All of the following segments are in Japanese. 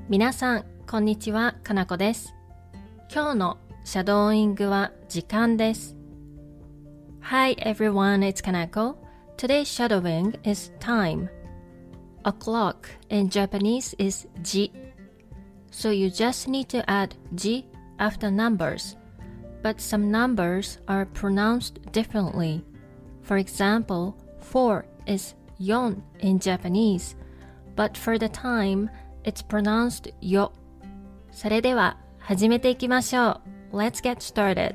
皆さん、こんにちは、かなこです。今日のシャドーイングは時間です。Hi everyone, it's Kanako. Today's shadowing is time. A clock in Japanese is ji. So you just need to add ji after numbers. But some numbers are pronounced differently. For example, 4 is yon in Japanese. But for the time, it's pronounced yo. それでは始めていきましょう。Let's get started.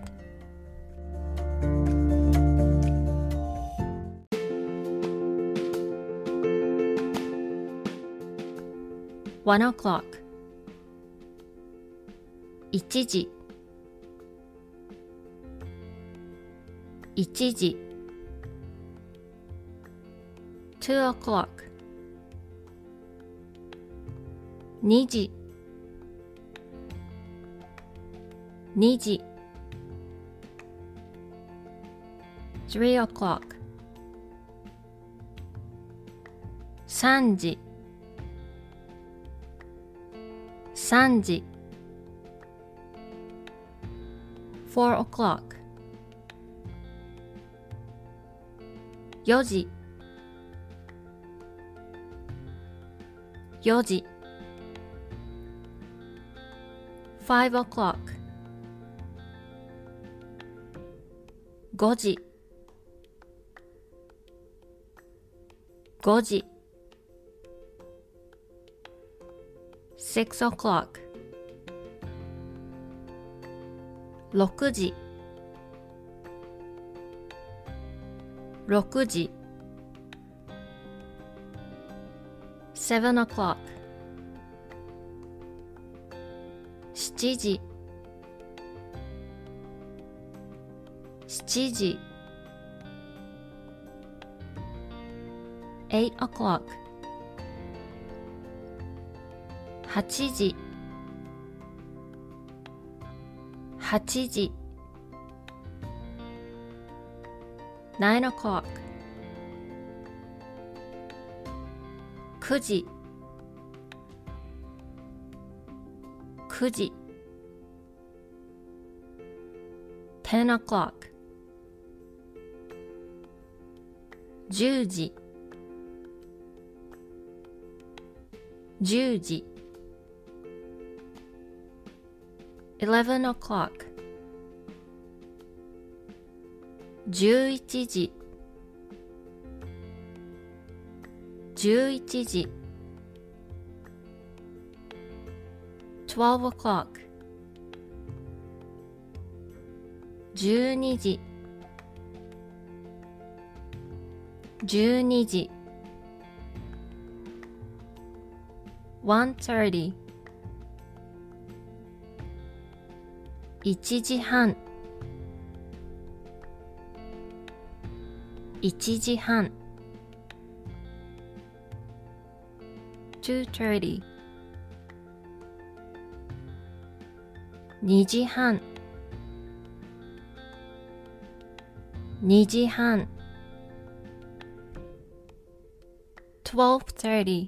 1 o'clock 1時1時 2 o'clock 2時2時 3 o'clock 3時3時 4 o'clock 4時4時5 o'clock 5時5時6 o'clock 6時6時7 o'clock 7時7時8 o'clock 8時8時9 o'clock 9時9時10 o'clock 10時10時11 o'clock 11時11時12 o'clock 12時12時 1:30 1時半1時半 2:30 2時半2時半 12:30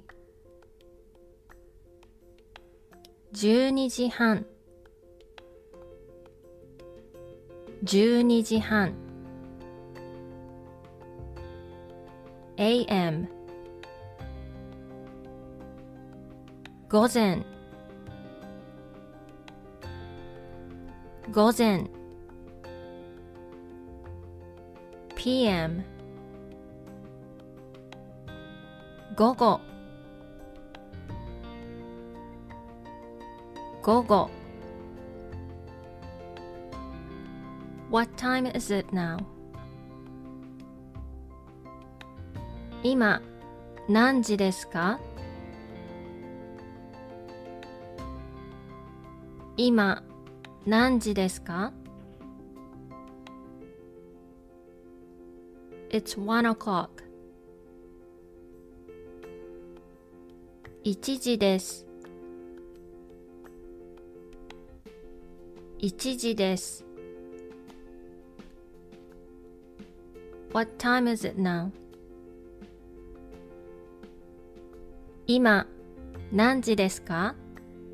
12時半12時半 AM 午前午前 PM 午後午後 What time is it now? 今何時ですか？今何時ですか？ It's 1 o'clock 1時です1時です。What time is it now? 今何時ですか？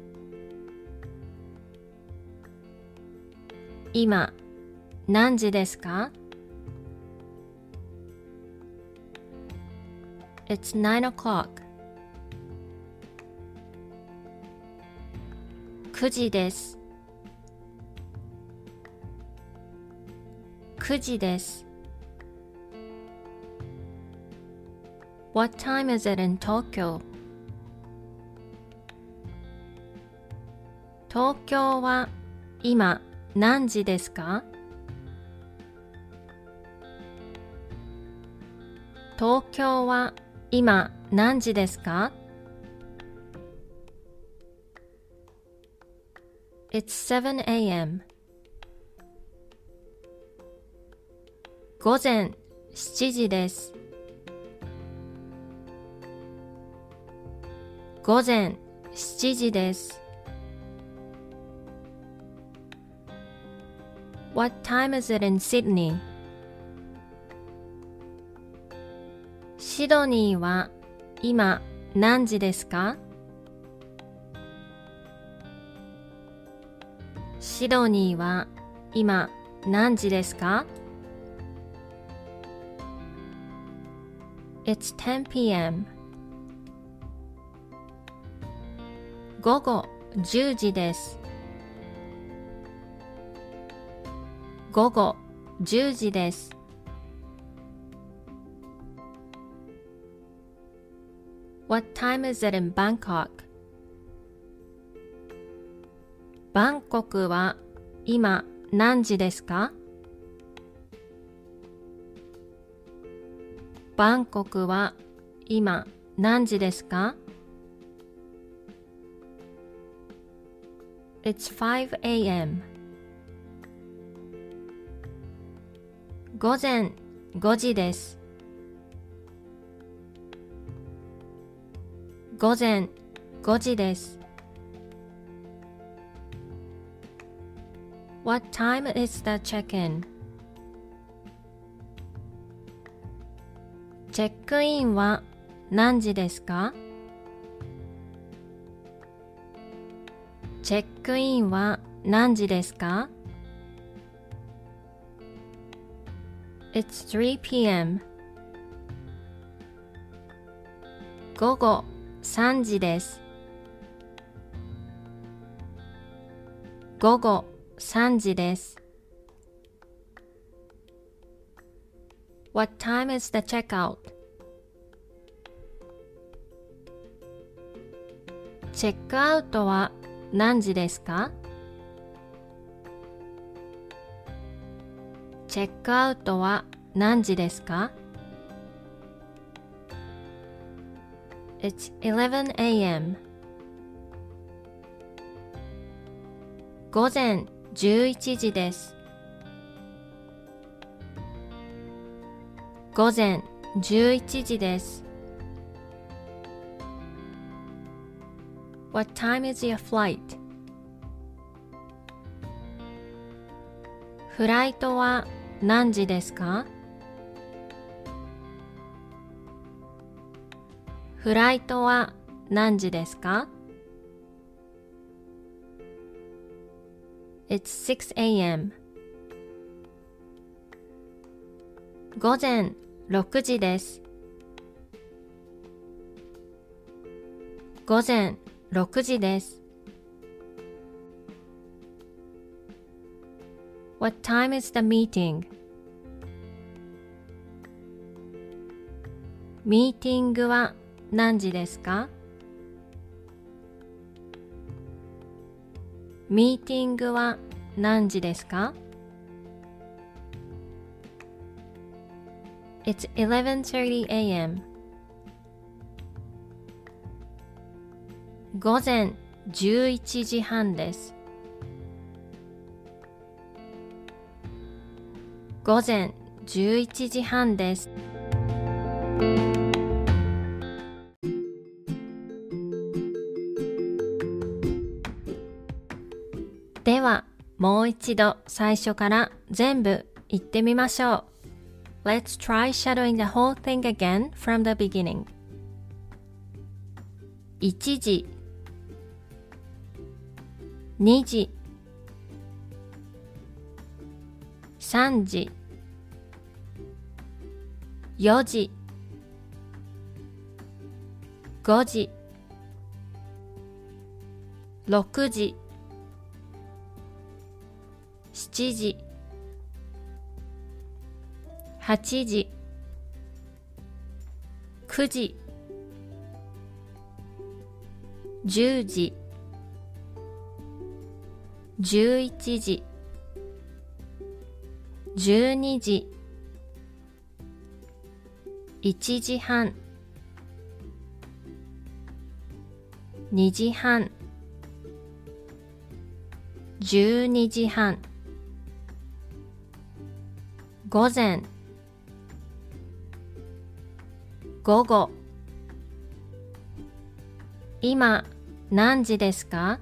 今何時ですか？ It's 9 o'clock. 9時です。9時です。What time is it in Tokyo? 東京は今何時ですか？東京は今何時ですか？ It's 7 a.m. 午前7時です。午前7時です。What time is it in Sydney? シドニーは今何時ですか？シドニーは今何時ですか？ It's 10 p.m. 午後10時です。午後10時です。What time is it in Bangkok? バンコクは今何時ですか？バンコクは今何時ですか？ It's 5 a.m. 午前5時です。午前5時です。What time is the check-in? チェックインは何時ですか？チェックインは何時ですか？ It's 3 p.m. 午後3時です。午後3時です。What time is the checkout? チェックアウトは何時ですか？チェックアウトは何時ですか？ It's 11 a.m. 午前11時です。午前11時です。What time is your flight? フライトは何時ですか？フライトは何時ですか？ It's 6 a.m. 午前6時です。午前6時です。What time is the meeting? ミーティングは何時ですか？ミーティングは何時ですか？ It's 11:30 a.m. 午前11時半です。午前11時半です。では、もう一度最初から全部言ってみましょう。Let's try shadowing the whole thing again from the beginning. 1時、2時、 3時、4時、5時、6時、7時、8時、9時、10時、11時、12時、1時半、2時半、12時半、午前、午後、今何時ですか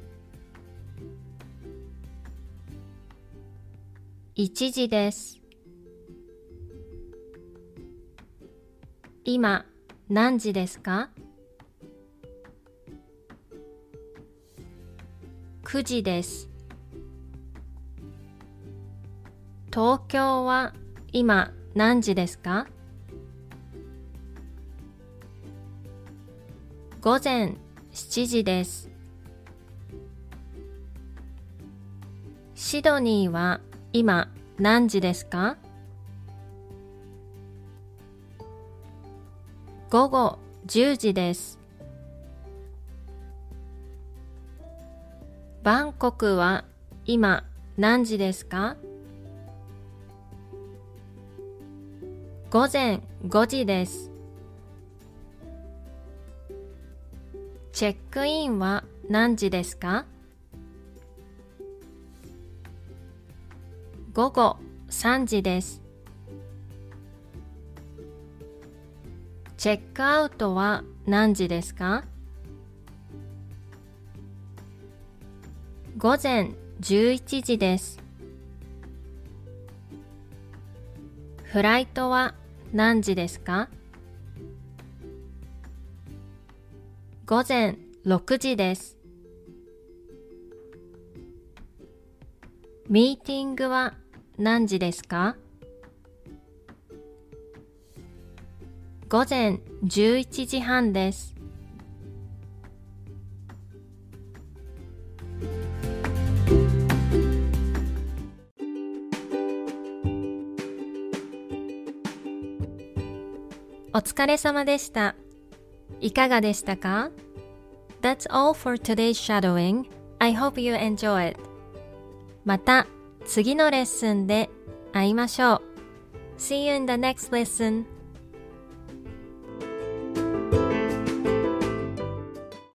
？1時です。今何時ですか？9時です。東京は今何時ですか？午前7時です。シドニーは今何時ですか？午後10時です。バンコクは今何時ですか？午前5時です。チェックインは何時ですか？午後3時です。チェックアウトは何時ですか？午前11時です。フライトは何時ですか？午前6時です。ミーティングは何時ですか？午前11時半です。お疲れ様でした。いかがでしたか？ That's all for today's shadowing. I hope you enjoy it. また次のレッスンで会いましょう。See you in the next lesson.